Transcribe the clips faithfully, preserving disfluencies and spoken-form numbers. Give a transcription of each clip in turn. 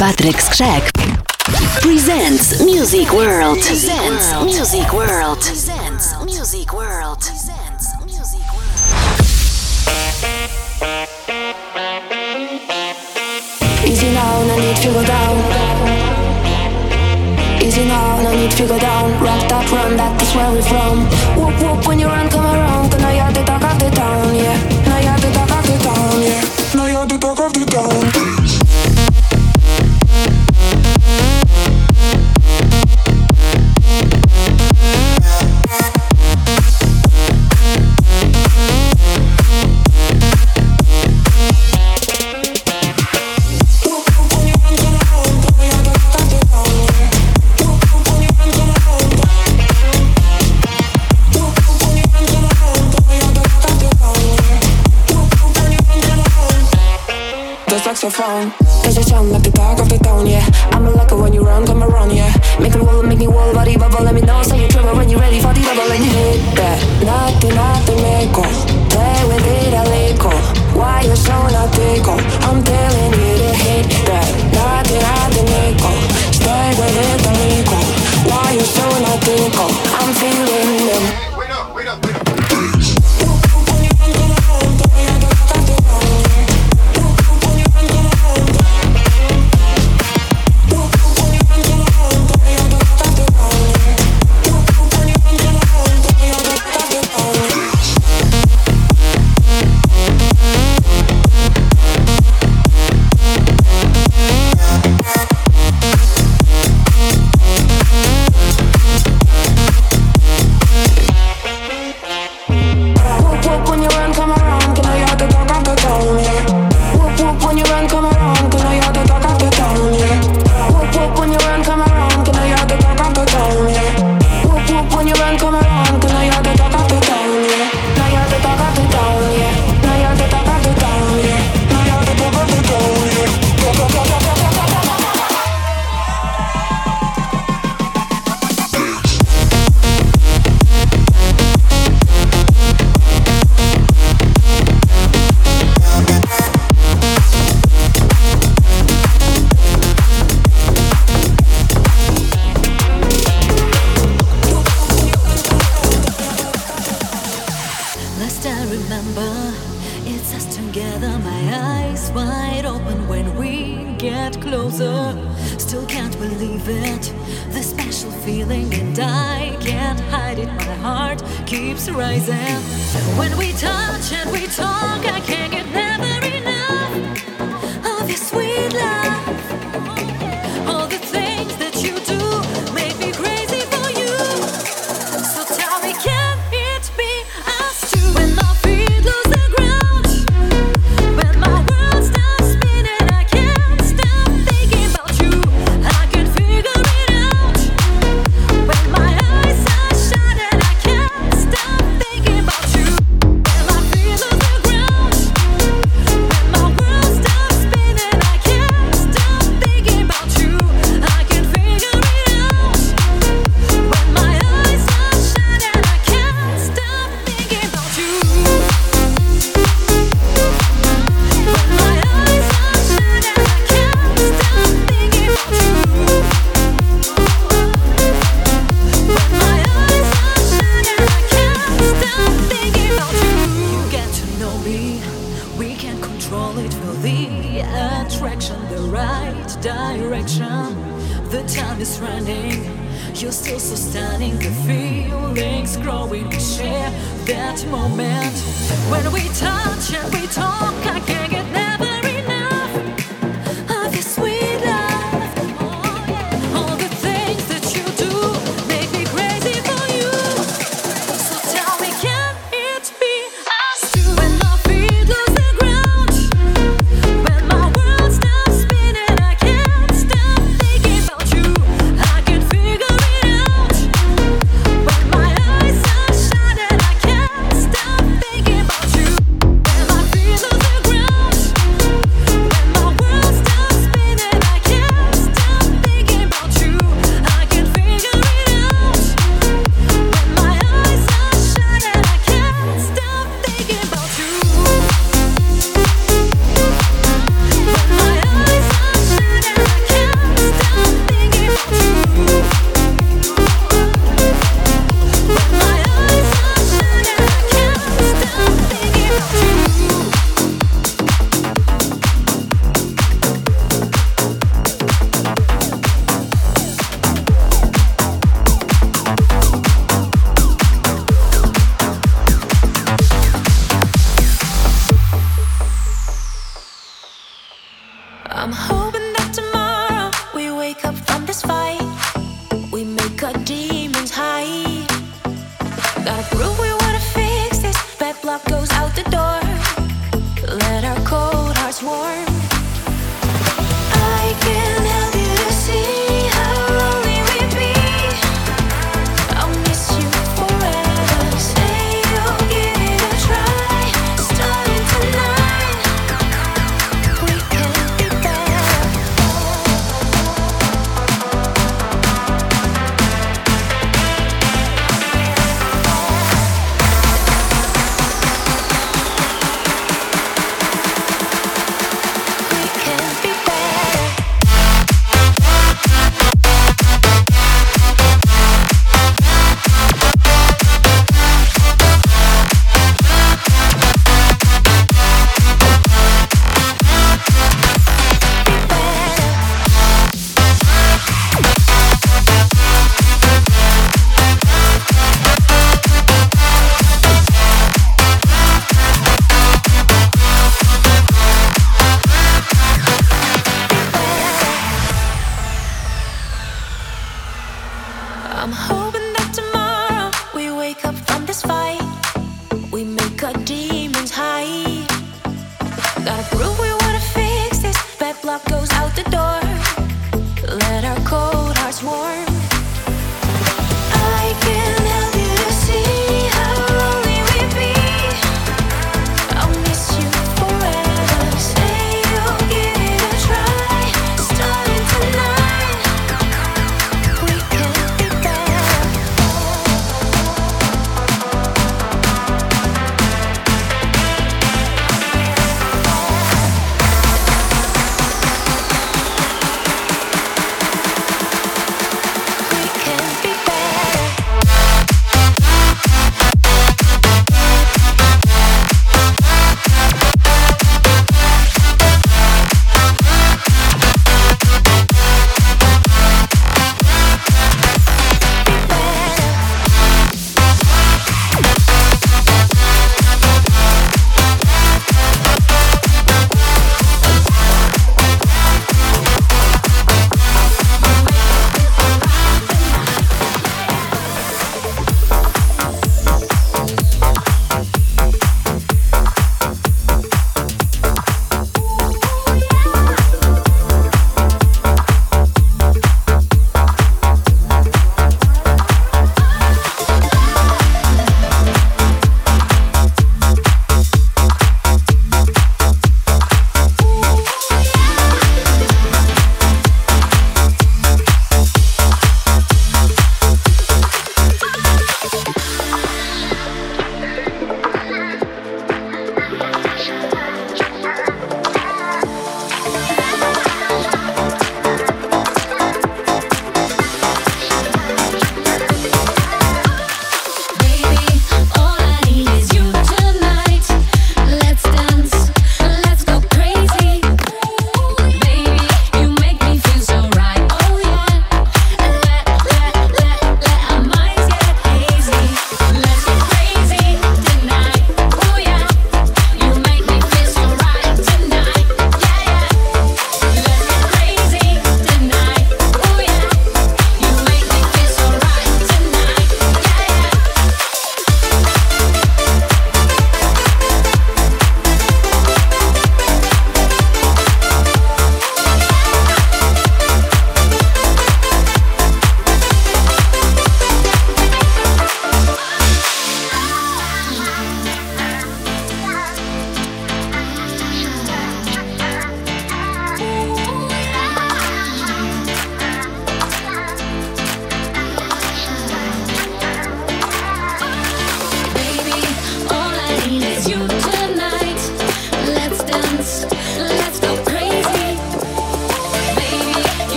Patryk Skrzek presents Music World. Presents Music World. Presents Music World. Presents Music World. Easy now, no need to go down. Easy now, no need to go down. Rock that, run that, that's where we're from. Whoop whoop when you run, come around. Cause now you're the talk of the town, yeah. Now you're the talk of the town, yeah. Now you're the talk of the town. Saxophone, does it sound like the talk of the town, yeah. I'm a lucky when you run, come around, yeah. Make me wobble, make me wobble, body bubble. Let me know, say you trouble when you're ready for the double. And you hit that, nothing, nothing, make go. Play with it a little. Why you so not tickle? I'm telling you to hit that, nothing, nothing, make go. Stay with it a little. Why you so not tickle? I'm feeling them. Wait up, wait up, wait up. Stop thinking about you. When my feet lose the ground.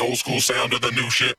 old school sound to the new shit.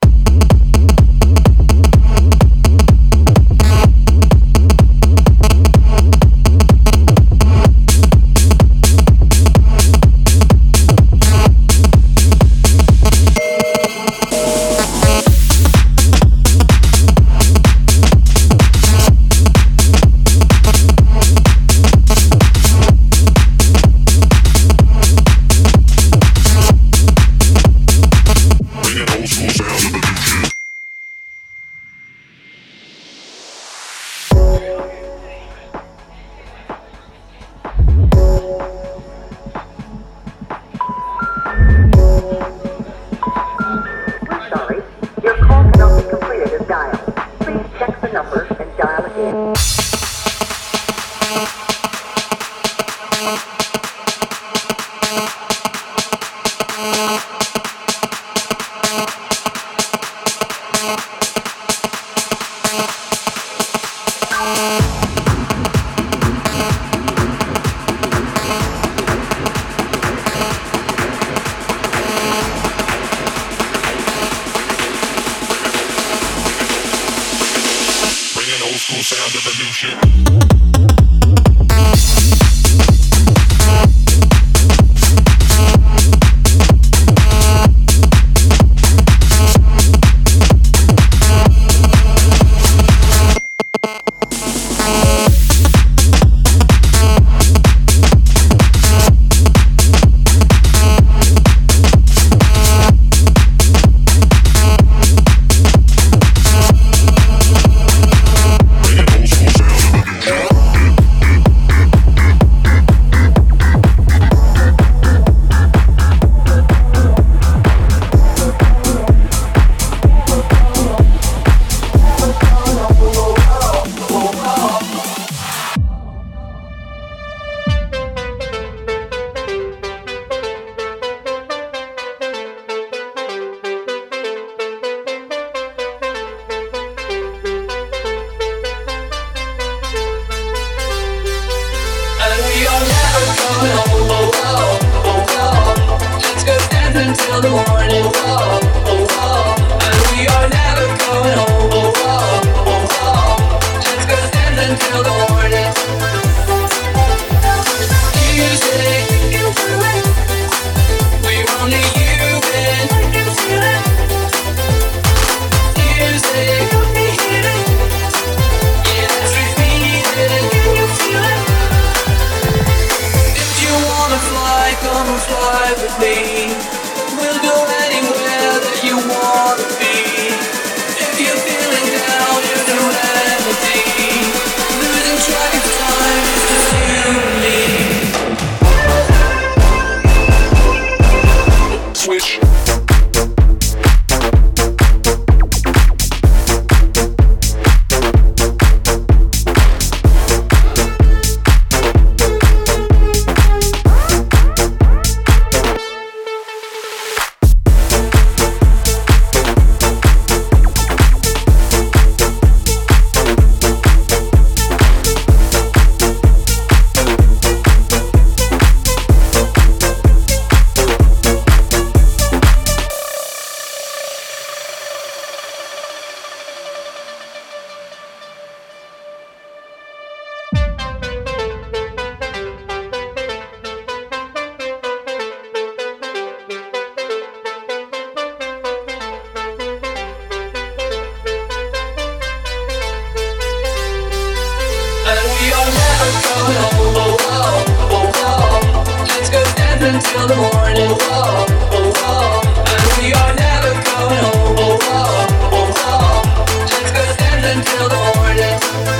Until the morning, whoa, whoa, whoa. And we are never going home, whoa, whoa, whoa, whoa. Let's go dance until the morning.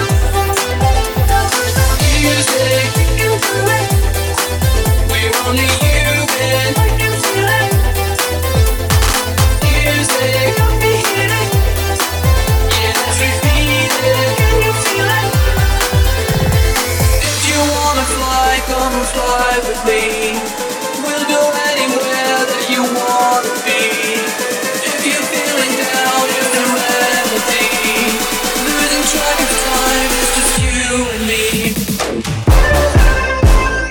Music, we're only human. Music, yeah, let's repeat it. If you wanna fly, come fly with me. We'll go anywhere that you wanna be. If you're feeling down, here's a remedy. Losing track of time, it's just you and me.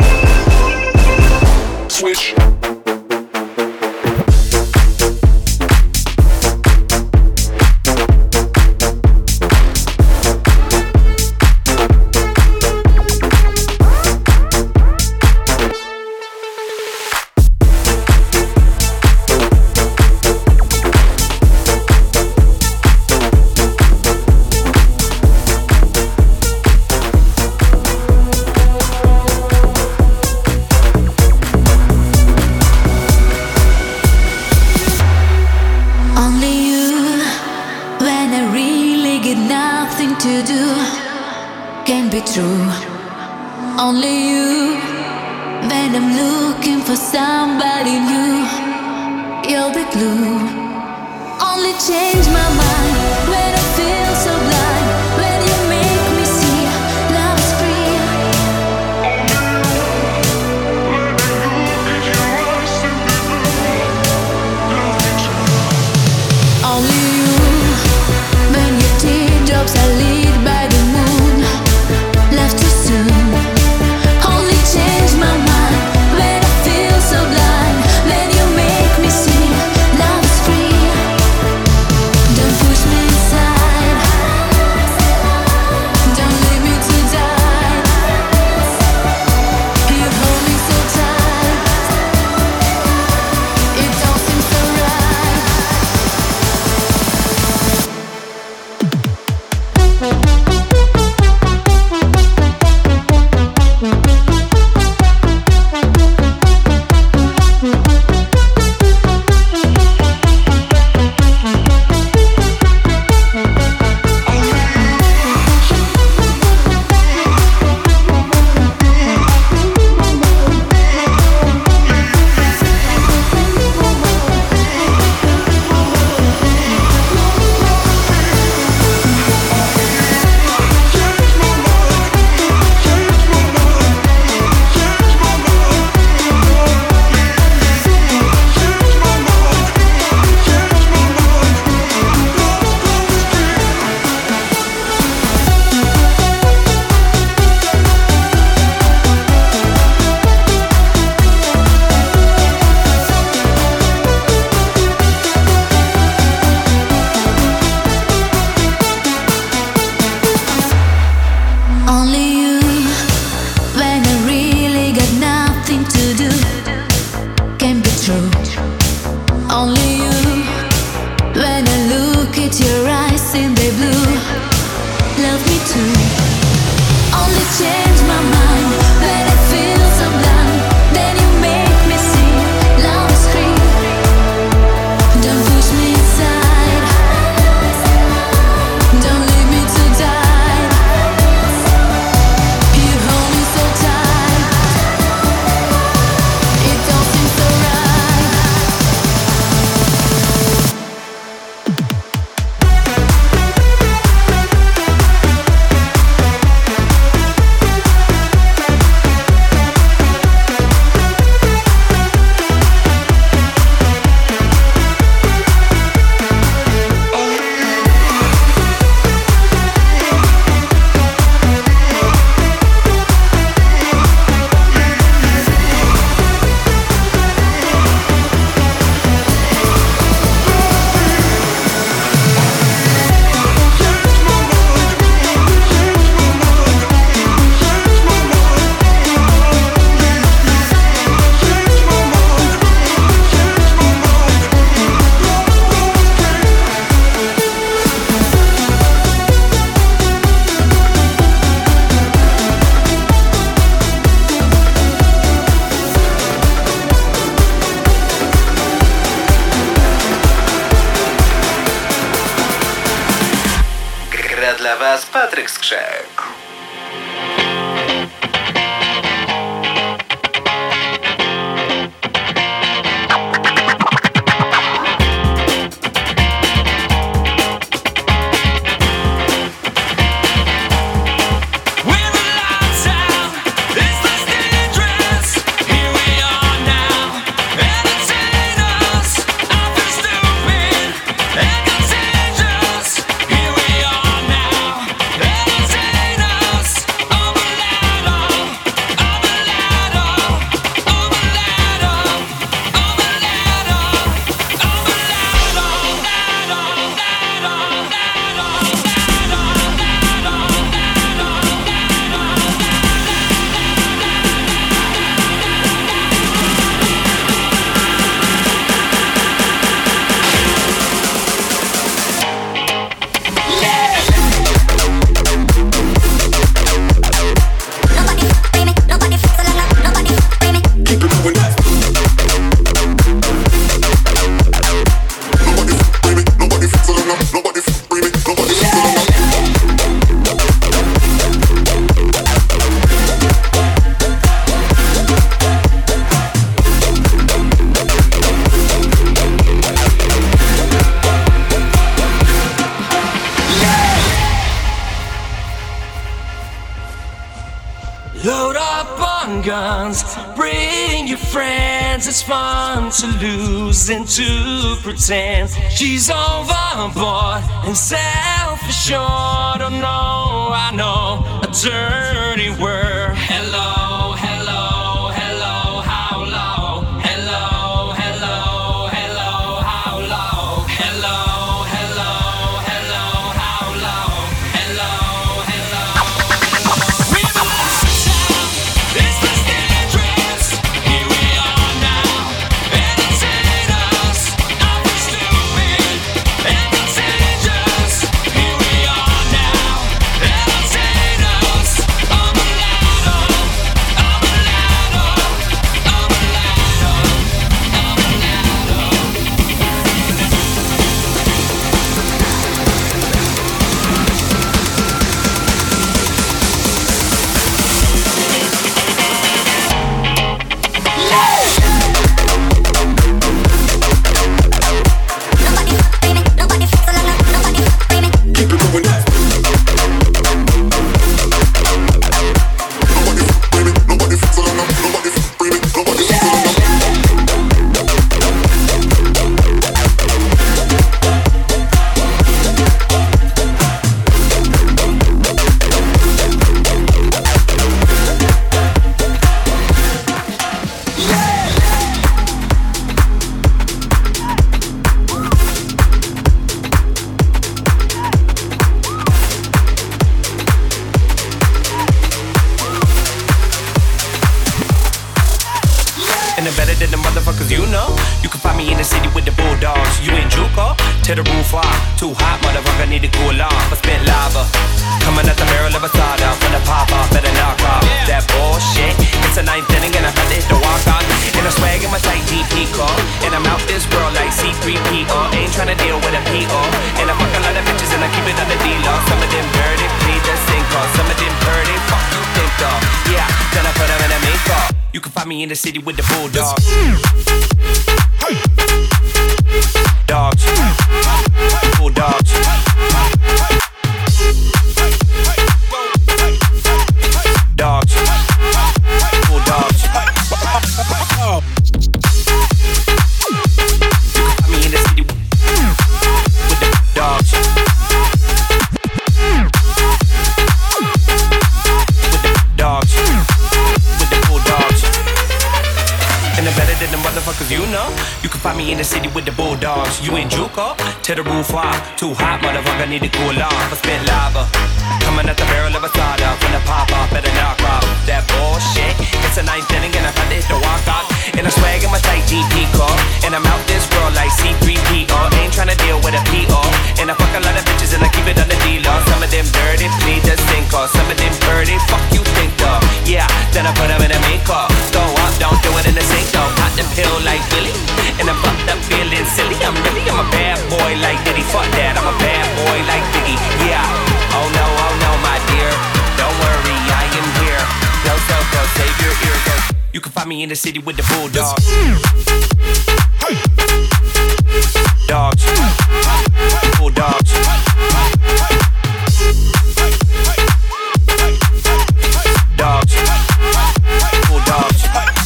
Switch. be true. Only you. When I'm looking for somebody new, you're the glue. Only change my mind when I feel so blind. When you make me see love is free. Only you. When your teardrops are lit by the moon, left too soon. Only change my mind when I feel so blind. When you make me see love is free. Don't push me inside. Don't leave me to die. You hold me so tight. It don't seem so right. Only you. When I really got nothing to do, can be true. Only you. When I look at your eyes in the blue, love me too. Only change my mind when I feel so blind. Then you make me see love is free. Don't push me inside. Don't leave me to die. You hold me so tight. It don't seem so right. Gra dla Was Patryk Skrzek. Here we are now, entertain guns. Bring your friends, it's fun to lose and to pretend. She's overboard and self-assured. Oh no, I know a dirty word. Hello, hello, hello, how low? Hello, hello, hello, how low? Hello, hello, hello, how low? Hello, hello, hello. We've lost time, it's this dangerous. Here we are now, entertain us. I feel stupid and contagious. Here we are now, entertain us. I'm a ladder, I'm a ladder, I'm a ladder, I'm a ladder. And I'm better than the motherfuckers you know. You can find me in the city with the bulldogs. You in Juco? Tear the roof off. Too hot, motherfucker, need to cool off. I spit lava coming out the barrel of a soda. From the pop off, better knock off that bullshit. It's a ninth inning and I had to hit the walk on. And I swag in my tight G P car. And I'm out this world like C three P O. Ain't tryna deal with a P O. And I fuck a lot of bitches and I keep it on the D-Law. Some of them dirty, please just sink off. Some of them dirty, fuck you think of. Yeah, then I put them in a make-up. You can find me in the city with the bulldogs. Dogs. Bulldogs. Dogs. Bulldogs. You can find me in the city with the dogs. With the dogs. With the bulldogs. And I'm better than the motherfuckers you know. You can find me in the city with the bulldogs. You in Juco? Tear the roof off. Too hot, motherfucker, need to cool off. I spit lava coming out the barrel of a soda. From the pop off, better knock off that bullshit. It's a ninth inning and I had to hit the walk off. And I swag in my tight G P car. And I'm out this world like C three P O. Ain't tryna deal with a P O. And I fuck a lot of bitches and I keep it on the D-Law. Some of them dirty, please just think off. Some of them dirty, fuck you think of. Yeah, then I put them in a make-up. Go up, don't do it in the sink though. Pop the pill like Billy. And I'm fucked up feeling silly. I'm really, I'm a bad boy like Diddy. Fuck that, I'm a bad boy like Biggie. Yeah, oh no, oh no, my dear. Don't worry, I am here. Go, so, go, save your ear. Go. You can find me in the city with the bulldogs. Dogs. Bulldogs. Dogs. Bulldogs.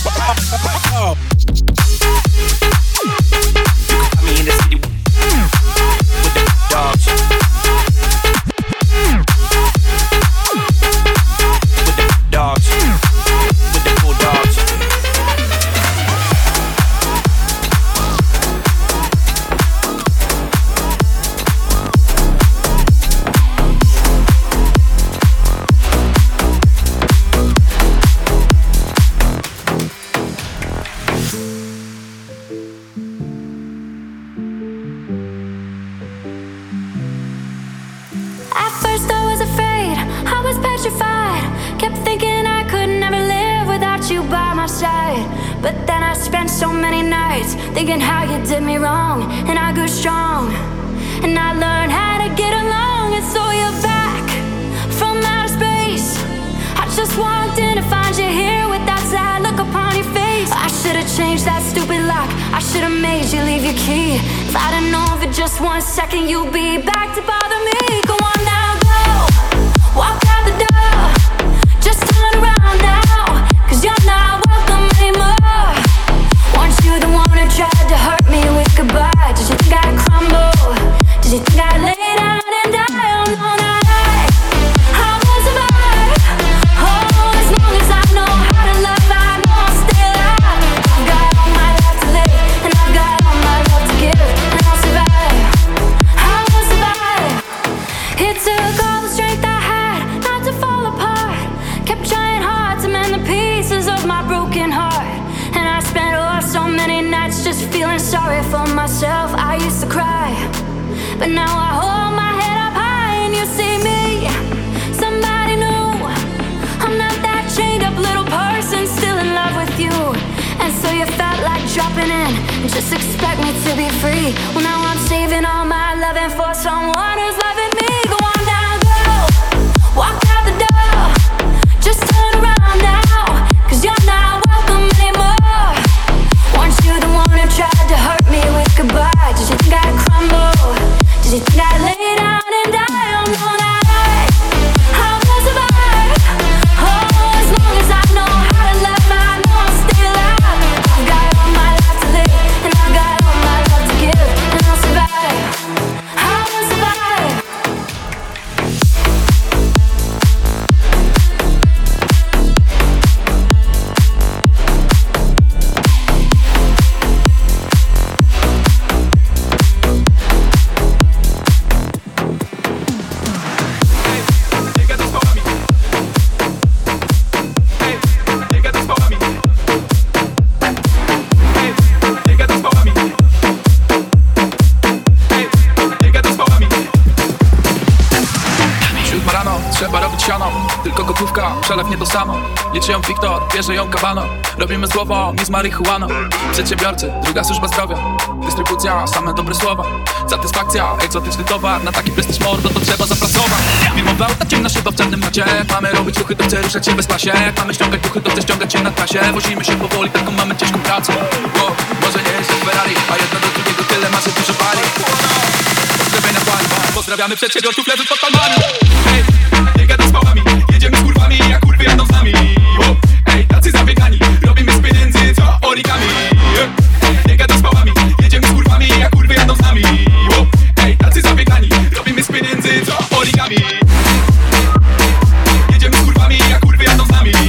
You can find me in the city with the dogs. With the dogs. With the bulldogs. At first I was afraid, I was petrified. Kept thinking I could never live without you by my side. But then I spent so many nights thinking how you did me wrong. And I grew strong, and I learned how to get along. And so you're back from outer space. I just walked in to find you here with that sad look upon your face. I should've changed that stupid lock, I should've made you leave your key. If I'd have known for just one second you'd be back to bother me. Go on now, go, walk out the door. Just turn around now, 'cause you're not feeling sorry for myself. I used to cry, but now I hold my head up high and you see me, somebody new. I'm not that chained up little person still in love with you. And so you felt like dropping in, just expect me to be free. Well, now I'm saving all my loving for someone who's loving me. Go on down, go, walk out the door. Just turn around now, cause you're not welcome anymore. Weren't you the one who tried to hurt me with goodbye? Did you think I'd crumble? Did you think I'd lay down and die? Oh no, not I, I will survive. Oh, as long as I know how to love, I know I'll stay alive. I've got all my life to live, and I've got all my love to give, and I'll survive, I will survive. Trzeba robić siano, tylko gotówka, przelew nie to samo. Liczy ją Wiktor, bierze ją Kabano. Robimy z głową, nie z marihuaną. Przedsiębiorcy, druga służba zdrowia. Dystrybucja, same dobre słowa. Satysfakcja, egzotyczny towar. Na taki prestiż mordo to trzeba zapracować. Firmowa auta, ciemna szyba w czarnym macie. Mamy robić ruchy, to chcę ruszać się bez klasie. Mamy ściągać duchy, to chcę ściągać się na trasie. Wozimy się powoli, taką mamy ciężką pracę. Wow, może nie jest jak Ferrari, a jedno do drugiego tyle ma, że dużo pali. Pozdrawienia pali, pozdrawiamy przedsiębiorców, leży pod palmami. Hej, nie gadaj z pałami, jedziemy z kurwami, jak kurwy jadą z nami. Wow, ej, tacy zabiegani, robimy z pieniędzy, co origami. Ej, nie gadaj z pałami, jedziemy z kurwami, jak kurwy jadą z nami. Wow, ej, tacy zabiegani, robimy z pieniędzy, co origami. Jedziemy z kurwami, jak kurwy jadą z nami.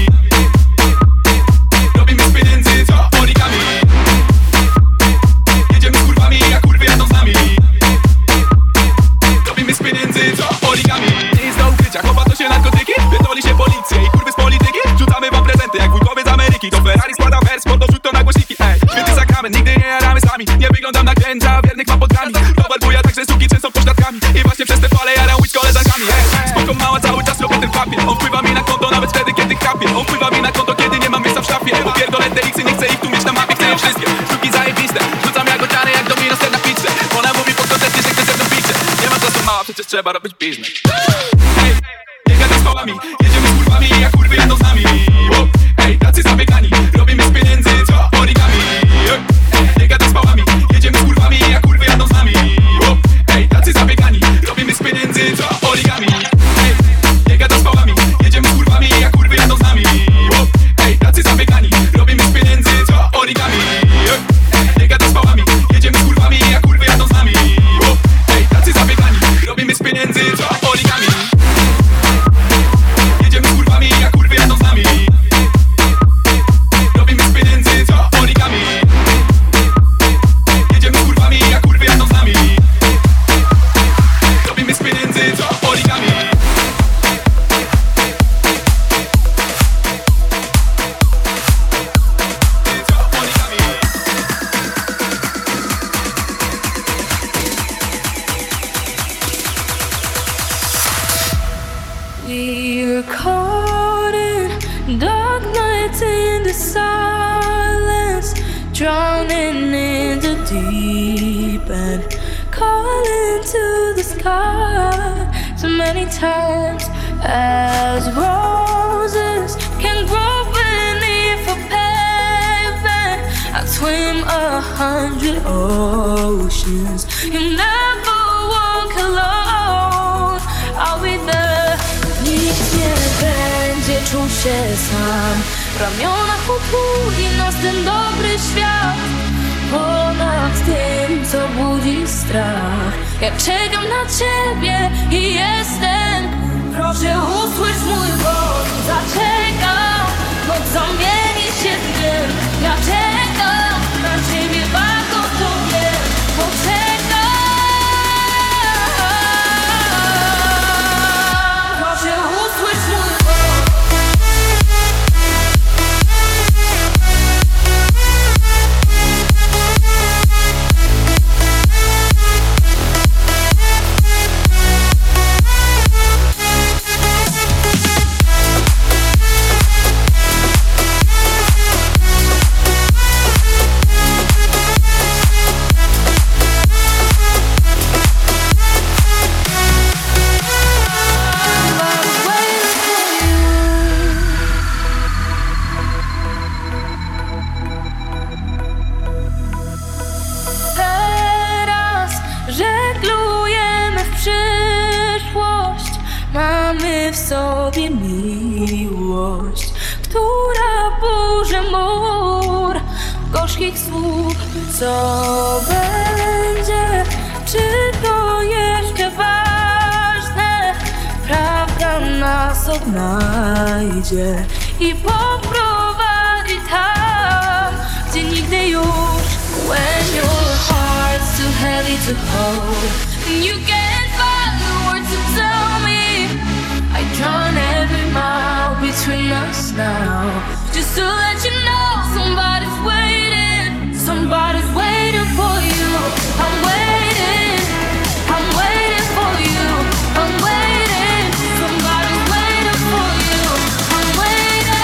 Robimy z pieniędzy, co origami. Jedziemy z kurwami, jak kurwy jadą z nami. Robimy z pieniędzy, co origami. Nie jest do ukrycia, chowa to się narkotyki. Pierdoli się policję i kurwy z polityki. Rzucamy wam prezenty jak wujkowie z Ameryki. To Ferrari składa wers, mordo wrzuć to na głośniki. Ej, święty sakrament, nigdy nie jaramy sami. Nie wyglądam na księdza, wiernych mam pod grami. Towar buja, także suki często pośladkami. I właśnie przez te fale jaram łódź z koleżankami. Ej, spoko mała, cały czas robię ten papier. On wpływa mi na konto nawet wtedy, kiedy krapię. On wpływa mi na konto, kiedy nie mam miejsca w szafie. Bo pierdolę te X-y, nie chcę ich tu mieć na mapie. Chcę je wszystkie, sztuki zajebiste. Rzucam jagociany jak domino ser na pizzę. Ona mówi po koncercie, że chce ze mną pizzę. Nie ma czasu mała, przecież trzeba robić biznes. Ej, nie gadaj z pałami, jedziemy z kurwami, jak kurwy jadą z nami. Wow, ej, tacy zabiegani, robimy z pieniędzy, co origami. Ej, nie gadaj z pałami, jedziemy z kurwami, jak kurwy jadą z nami. Wow, ej, tacy zabiegani, robimy z pieniędzy, co origami. Ej, nie gadaj z pałami, jedziemy z kurwami, jak kurwy jadą z nami. Wow, ej, tacy zabiegani, robimy z pieniędzy, co origami. Ej, nie gadaj z pałami, jedziemy z kurwami, jak kurwy jadą z nami. Wow, ej, tacy zabiegani, robimy z pieniędzy, co origami. Jedziemy z kurwami, jak kurwy jadą z nami. Robimy z pieniędzy, co origami. Jedziemy z kurwami, jak kurwy jadą z nami. Robimy z pieniędzy, co origami. We're caught in dark nights in the silence, drowning in the deep end, calling to the sky so many times as roses can grow beneath a pavement. I swim a hundred oceans, you never walk alone. I'll be there. Nikt nie będzie czuł się sam. W ramionach otuli nas ten dobry świat. Ponad tym, co budzi strach. Ja czekam na ciebie i jestem. Proszę usłysz mój głos. Zaczekam, noc zamieni się w dym. Ja czekam na ciebie, bardzo to wiem. Poczekam. Tobie miłość, która burzy mur gorzkich słów. Co będzie? Czy to jeszcze ważne? Prawda nas odnajdzie i poprowadzi tam, gdzie nigdy już. When your heart's too heavy to hold and you can't find the words to tell me, I drown every mile between us now, just to let you know somebody's waiting, somebody's waiting for you. I'm waiting, I'm waiting for you, I'm waiting, somebody's waiting for you, I'm waiting.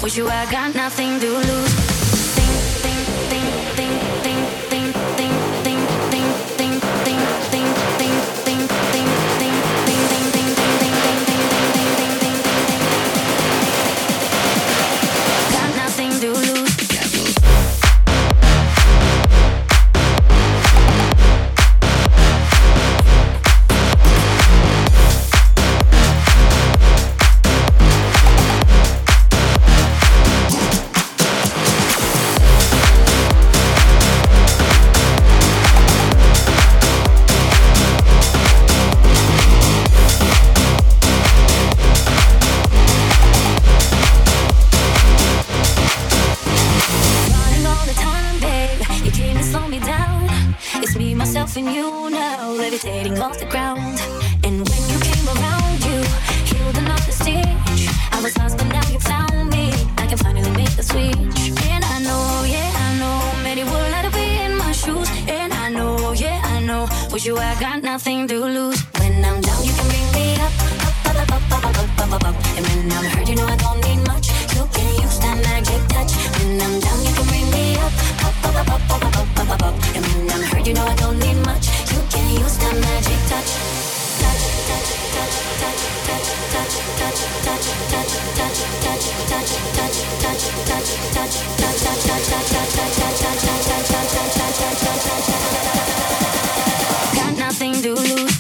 With you I got nothing to lose. Think, think, think, think, think, think, think, think, think, think, think, think, think, think, think, think, think, think, think, think, got nothing to lose. And you now levitating off the ground. And when you came around, you healed another stage. I was lost, but now you found me. I can finally make the switch. And I know, yeah, I know, many would like to be in my shoes. And I know, yeah, I know, with you I got nothing to lose. When I'm down, you can bring me up, up, up, up, up, up, up, up, up, up. And when I'm hurt, you know I don't need much. You can use that magic touch. When I'm down, you can bring me up, up, up, up, up, up, up, up, up, up. And when I'm hurt, you know I don't need much. You can use that magic touch. Touch, touch, touch, touch, touch, touch, touch, touch, touch, touch, touch, touch, touch, touch, touch, touch, touch, touch, touch, got nothing to lose.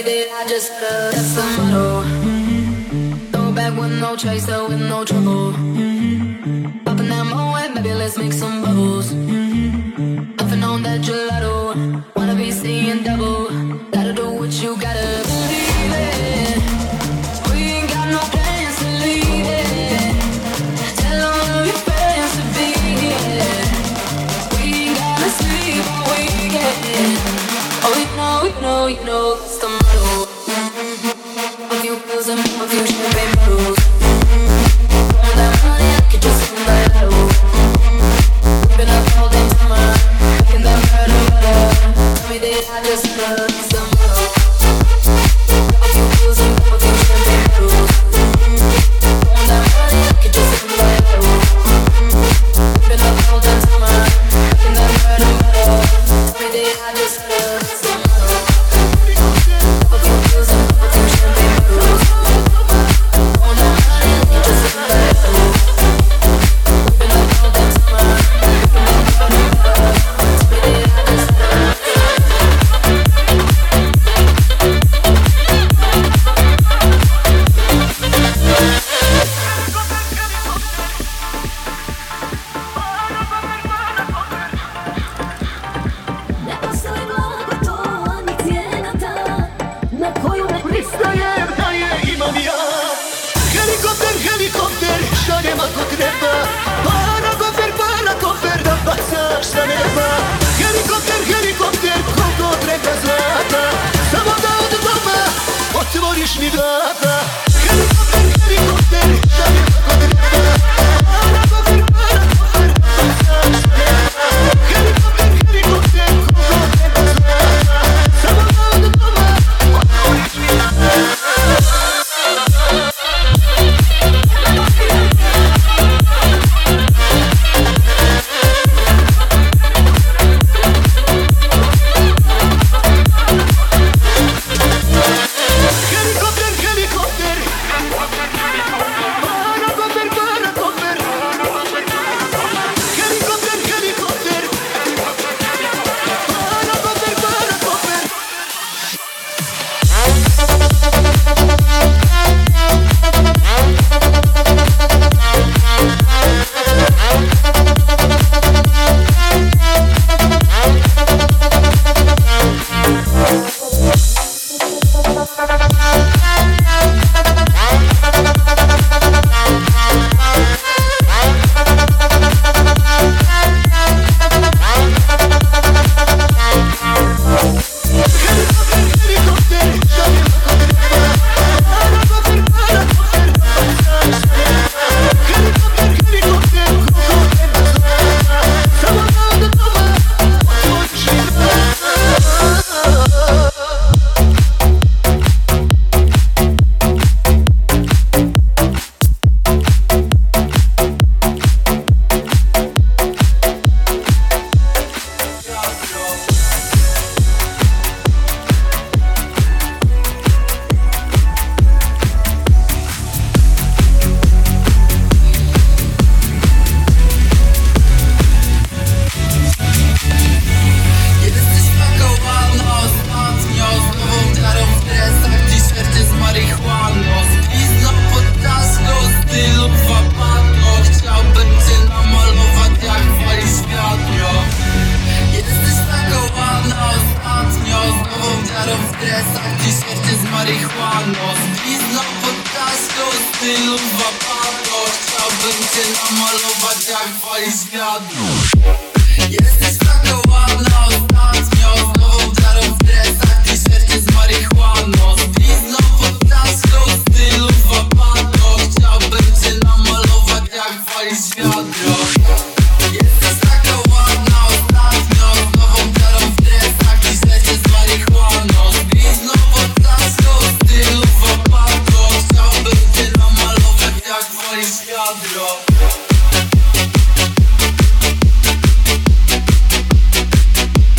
me that I just uh, that's the motto. Throw back with no chaser, with no trouble. Popping that moe, baby, let's make some bubbles. Puffing on that gelato, wanna be seeing double. Gotta do what you gotta believe it. We ain't got no plans to leave it. Tell all of your friends to be here. We ain't gotta sleep all weekend. Oh, you know, you know, you know, it's the motto. A few pills and a few champagne bottles. All that money, I could just spend that out. We've been up all day summer, making that murder butter. Tell me that I just love it's the motto. A few pills and a few champagne bottles. All that money, I could just spend that out. We've been up all day summer, making that murder butter. Tell me that I just love it's the motto. A few pills and a few champagne bottles. All that money, I could just spend that out. We've been up all day summer, making that murder butter. Tell me that I just love. Helikopter, helikopter, što nema ko treba. Para kofer, para kofer, da bacaš sa neba. Helikopter, helikopter, koliko treba zlata. Samo da od doma otvoriš mi vrata. Helikopter, helikopter, što nema ko treba. Para kofer, para kofer, da bacaš sa neba. Helikopter, helikopter, koliko treba zlata. Samo da od doma otvoriš mi vrata. Wiadro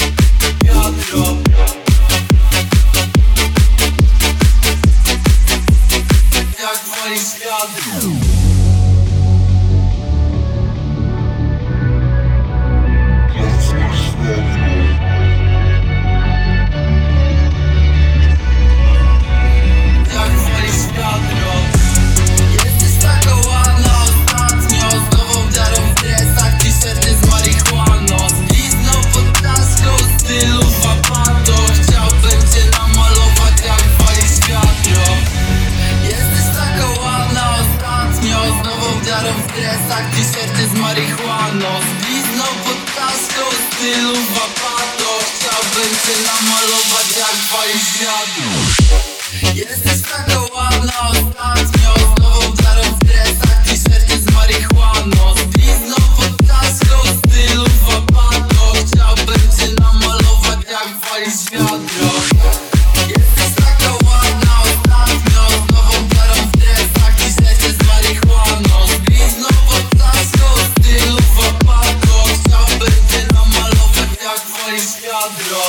twoim światu. Jesteś taka ładna ostatnio, z nową darą w dresach, t-shircie z marihuaną, z blizną pod czaszką, stylu wapato. Chciałbym cię namalować jak walisz wiadro. Jesteś taka ładna ostatnio, z nową darą w dresach, t-shircie z marihuaną, z blizną pod czaszką, stylu wapato. Chciałbym cię namalować jak walisz wiadro.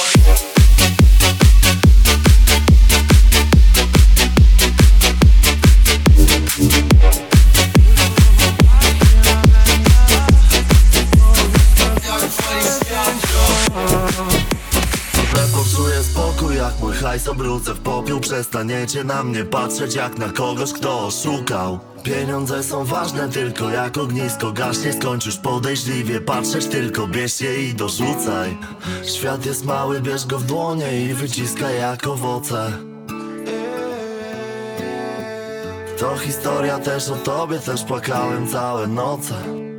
Poczuję spokój, jak mój hajs obrócę w popiół. Przestaniecie na mnie patrzeć jak na kogoś, kto oszukał. Pieniądze są ważne tylko jak ognisko gaśnie. Skończysz podejrzliwie patrzeć, tylko bierz je i dorzucaj. Świat jest mały, bierz go w dłonie i wyciskaj jak owoce. To historia też o tobie, też płakałem całe noce.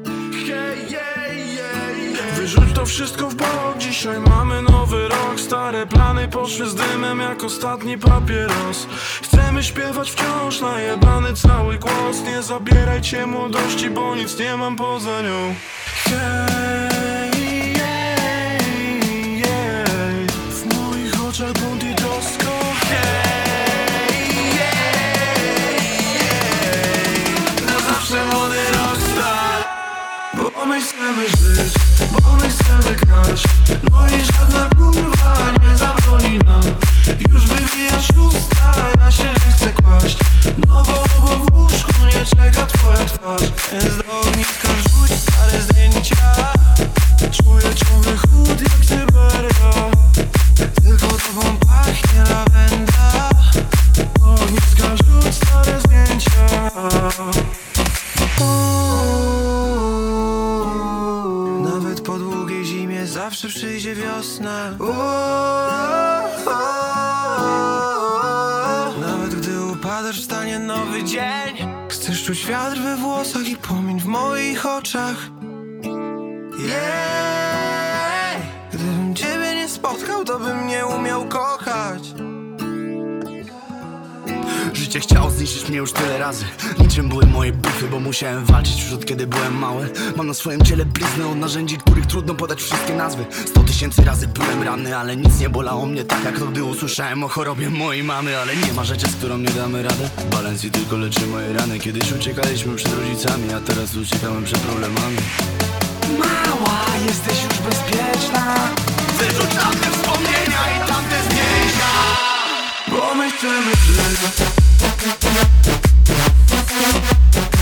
Wyrzuć to wszystko w bok, dzisiaj mamy nowy rok. Stare plany poszły z dymem jak ostatni papieros. Chcemy śpiewać wciąż, najebany cały głos. Nie zabierajcie młodości, bo nic nie mam poza nią. Hej, jej, jej. W moich oczach bunt i trosko. Hej, jej, jej. Na zawsze młody rockstar, bo my chcemy żyć, bo my chcemy grać. No i żadna kurwa nie zabroni nam. Już wywijasz usta, ja się nie chcę kłaść. No bo, bo w łóżku nie czeka twoja twarz. Więc do ogniska rzuć stare zdjęcia. Czuję ciągle chłód jak Syberia. Tylko tobą pachnie lawenda. Do ogniska rzuć stare zdjęcia. Nawet po długiej zimie zawsze przyjdzie wiosna. Nawet gdy upadasz, wstanie nowy dzień. Chcesz czuć wiatr we włosach i płomień w moich oczach. Yeah. Gdybym ciebie nie spotkał, to bym nie umiał kochać. Życie chciało zniszczyć mnie już tyle razy. Niczym były moje bufy, bo musiałem walczyć już od kiedy byłem mały. Mam na swoim ciele blizny od narzędzi, których trudno podać wszystkie nazwy. Sto tysięcy razy byłem ranny, ale nic nie bolało mnie tak jak to, gdy usłyszałem o chorobie mojej mamy. Ale nie ma rzeczy, z którą nie damy radę. Balans i tylko leczy moje rany. Kiedyś uciekaliśmy przed rodzicami, a teraz uciekamy przed problemami. Mała, jesteś już bezpieczna. Wyrzuć tamte wspomnienia i tamte zdjęcia, bo my chcemy żyć.